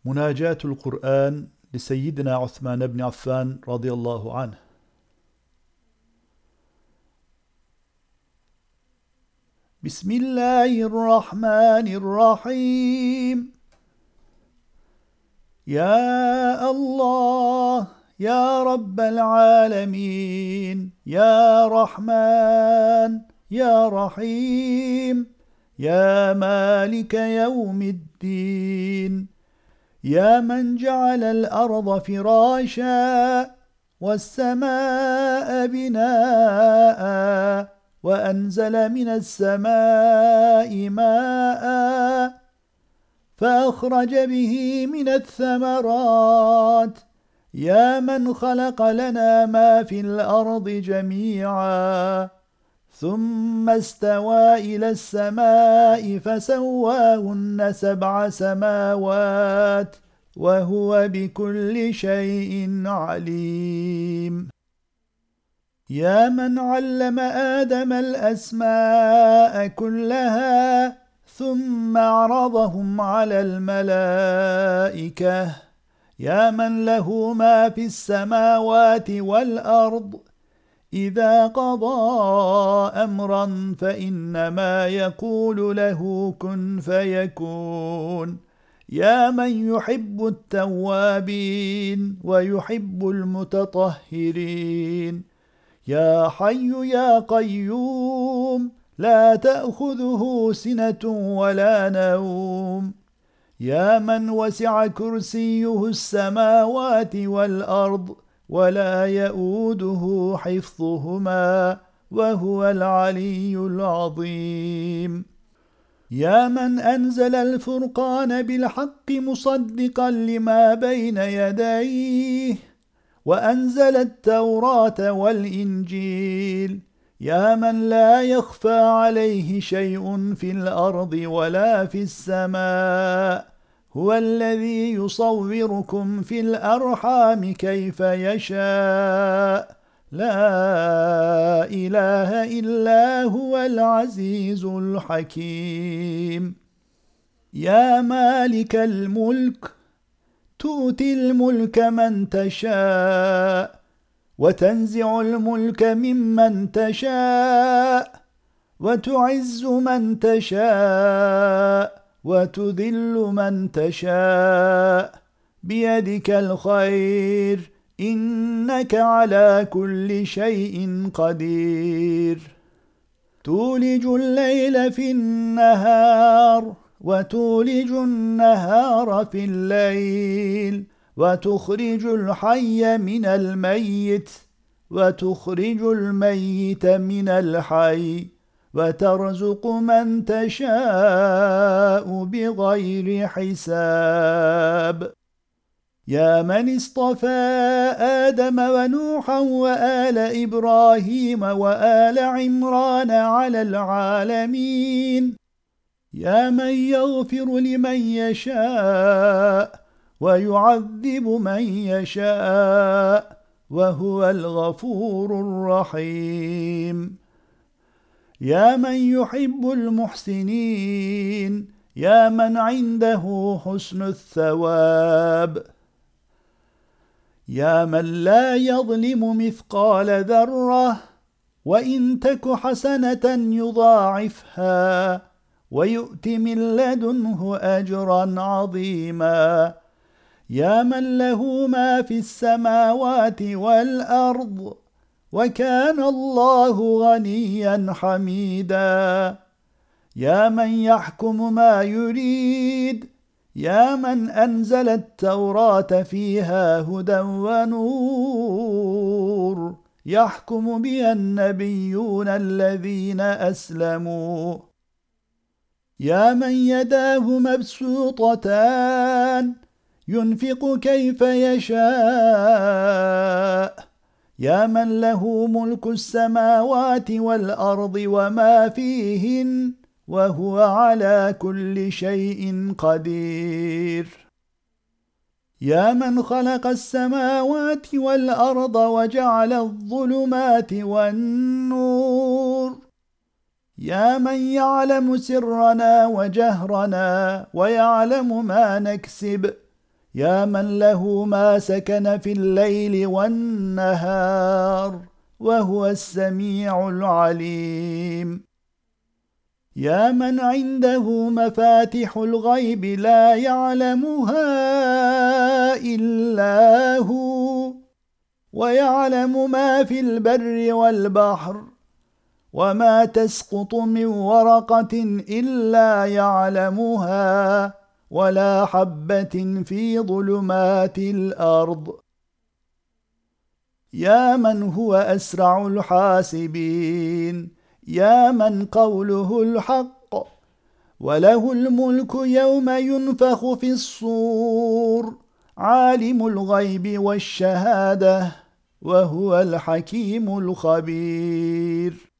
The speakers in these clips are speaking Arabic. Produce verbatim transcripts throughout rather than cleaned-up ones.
مناجاة القرآن لسيدنا عثمان بن عفان رضي الله عنه. بسم الله الرحمن الرحيم. يا الله يا رب العالمين، يا رحمن يا رحيم، يا مالك يوم الدين، يا من جعل الأرض فراشا والسماء بناء وأنزل من السماء ماء فأخرج به من الثمرات، يا من خلق لنا ما في الأرض جميعا ثم استوى إلى السماء فسواهن سبع سماوات وهو بكل شيء عليم، يا من علم آدم الأسماء كلها ثم عرضهم على الملائكة، يا من له ما في السماوات والأرض، إذا قضى أمرا فإنما يقول له كن فيكون، يا من يحب التوابين ويحب المتطهرين، يا حي يا قيوم لا تأخذه سنة ولا نوم، يا من وسع كرسيه السماوات والأرض ولا يؤوده حفظهما وهو العلي العظيم، يا من أنزل الفرقان بالحق مصدقا لما بين يديه وأنزل التوراة والإنجيل، يا من لا يخفى عليه شيء في الأرض ولا في السماء، هو الذي يصوركم في الأرحام كيف يشاء، لا إله إلا هو العزيز الحكيم، يا مالك الملك تؤتي الملك من تشاء وتنزع الملك ممن تشاء وتعز من تشاء وتذل من تشاء، بيدك الخير إنك على كل شيء قدير، تولج الليل في النهار وتولج النهار في الليل وتخرج الحي من الميت وتخرج الميت من الحي وترزق من تشاء بغير حساب، يا من اصطفى آدم ونوحا وآل إبراهيم وآل عمران على العالمين، يا من يغفر لمن يشاء ويعذب من يشاء وهو الغفور الرحيم، يا من يحب المحسنين، يا من عنده حسن الثواب، يا من لا يظلم مثقال ذرة وإن تك حسنة يضاعفها ويؤت من لدنه أجرا عظيما، يا من له ما في السماوات والأرض وكان الله غنيا حميدا، يا من يحكم ما يريد، يا من أنزل التوراة فيها هدى ونور يحكم بها النبيون الذين أسلموا، يا من يداه مبسوطتان ينفق كيف يشاء، يا من له ملك السماوات والأرض وما فيهن وهو على كل شيء قدير، يا من خلق السماوات والأرض وجعل الظلمات والنور، يا من يعلم سرنا وجهرنا ويعلم ما نكسب، يا من له ما سكن في الليل والنهار وهو السميع العليم. يا من عنده مفاتح الغيب لا يعلمها إلا هو، ويعلم ما في البر والبحر، وما تسقط من ورقة إلا يعلمها، ولا حبة في ظلمات الأرض. يا من هو أسرع الحاسبين، يا من قوله الحق، وله الملك يوم ينفخ في الصور، عالم الغيب والشهادة، وهو الحكيم الخبير.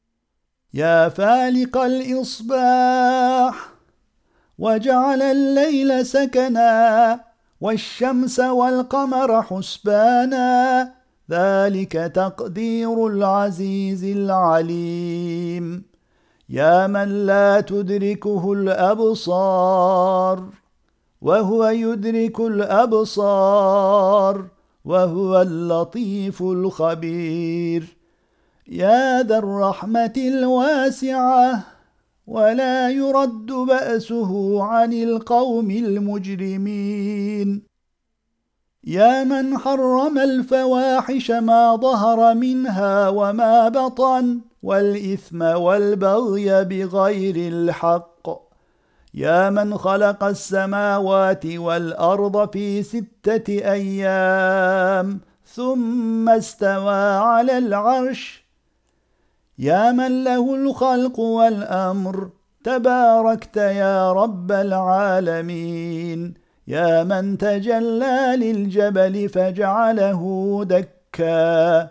يا فالق الإصباح، وجعل الليل سكنا، والشمس والقمر حسبانا، ذلك تقدير العزيز العليم. يا من لا تدركه الأبصار، وهو يدرك الأبصار، وهو اللطيف الخبير. يا ذا الرحمة الواسعة، ولا يرد بأسه عن القوم المجرمين. يا من حرم الفواحش ما ظهر منها وما بطن، والإثم والبغي بغير الحق. يا من خلق السماوات والأرض في ستة أيام ثم استوى على العرش. يا من له الخلق والأمر، تباركت يا رب العالمين. يا من تجلى للجبل فجعله دكا.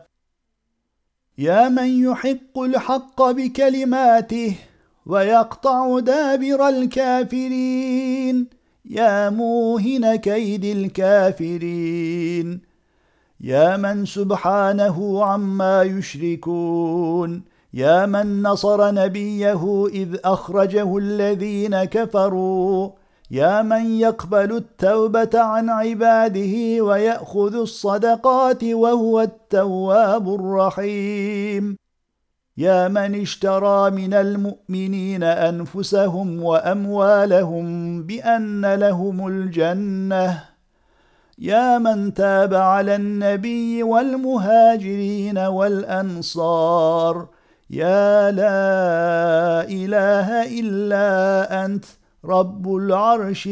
يا من يحق الحق بكلماته ويقطع دابر الكافرين. يا موهن كيد الكافرين. يا من سبحانه عما يشركون. يا من نصر نبيه إذ أخرجه الذين كفروا. يا من يقبل التوبة عن عباده ويأخذ الصدقات وهو التواب الرحيم. يا من اشترى من المؤمنين أنفسهم وأموالهم بأن لهم الجنة. يا من تاب على النبي والمهاجرين والأنصار. يا لا إله إلا أنت رب العرش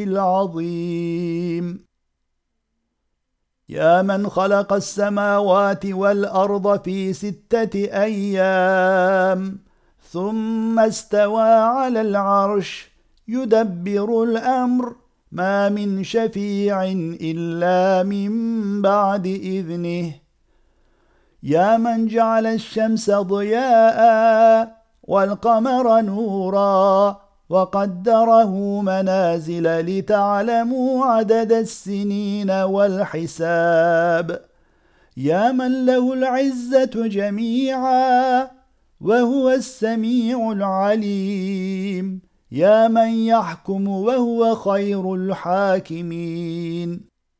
العظيم. يا من خلق السماوات والأرض في ستة أيام ثم استوى على العرش، يدبر الأمر، ما من شفيع إلا من بعد إذنه. يا من جعل الشمس ضياء والقمر نورا، وقدره منازل لتعلموا عدد السنين والحساب. يا من له العزة جميعا، وهو السميع العليم. يا من يحكم وهو خير الحاكمين.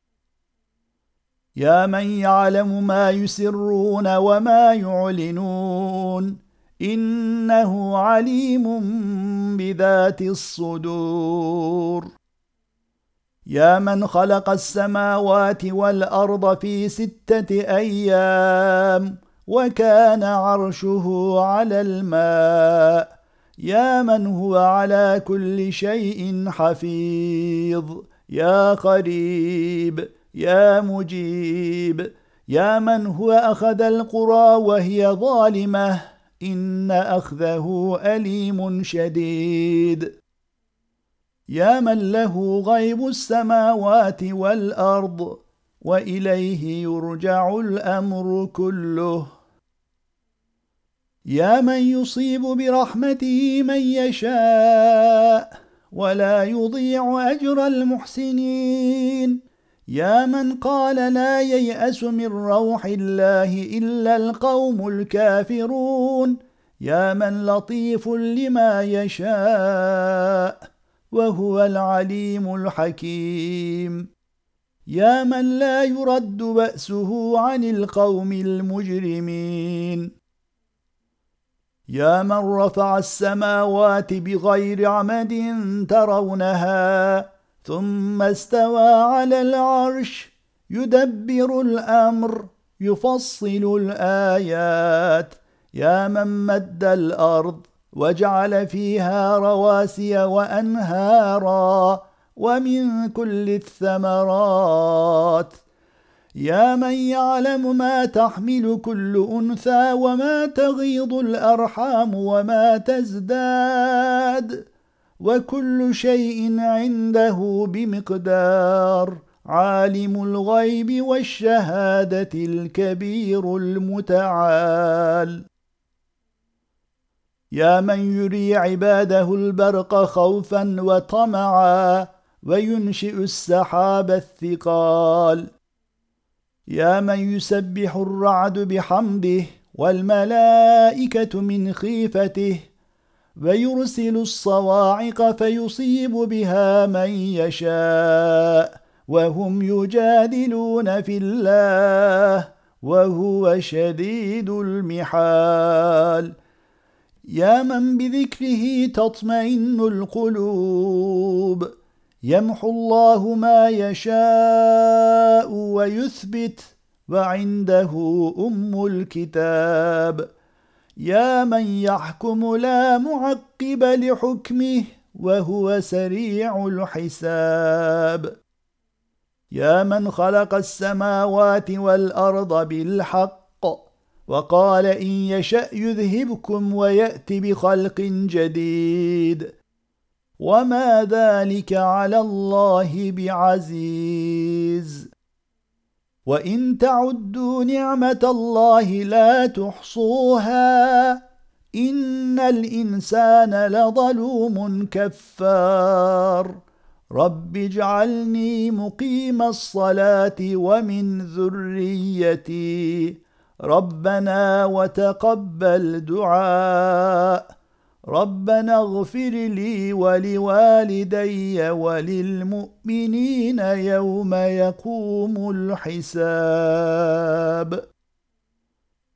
يا من يعلم ما يسرون وما يعلنون، إنه عليم بذات الصدور. يا من خلق السماوات والأرض في ستة أيام وكان عرشه على الماء. يا من هو على كل شيء حفيظ. يا قريب، يا مجيب. يا من هو أخذ القرى وهي ظالمة، إن أخذه أليم شديد. يا من له غيب السماوات والأرض، وإليه يرجع الأمر كله. يا من يصيب برحمته من يشاء، ولا يضيع أجر المحسنين. يا من قال لا ييأس من روح الله إلا القوم الكافرون. يا من لطيف لما يشاء، وهو العليم الحكيم. يا من لا يرد بأسه عن القوم المجرمين. يا من رفع السماوات بغير عمد ترونها ثم استوى على العرش يدبر الأمر يفصل الآيات. يا من مد الأرض وجعل فيها رواسي وأنهارا ومن كل الثمرات. يا من يعلم ما تحمل كل أنثى وما تغيض الأرحام وما تزداد، وكل شيء عنده بمقدار. عالم الغيب والشهادة الكبير المتعال. يا من يري عباده البرق خوفا وطمعا وينشئ السحاب الثقال. يا من يسبح الرعد بحمده والملائكة من خيفته ويرسل الصواعق فيصيب بها من يشاء وهم يجادلون في الله وهو شديد المحال. يا من بذكره تطمئن القلوب. يمحو الله ما يشاء ويثبت وعنده أم الكتاب. يا من يحكم لا معقب لحكمه وهو سريع الحساب. يا من خلق السماوات والأرض بالحق وقال إن يشأ يذهبكم ويأت بخلق جديد وما ذلك على الله بعزيز. وإن تعدوا نعمة الله لا تحصوها إن الإنسان لظلوم كفار. رب اجعلني مقيم الصلاة ومن ذريتي ربنا وتقبل دعاء. ربنا اغفر لي ولوالدي وللمؤمنين يوم يقوم الحساب.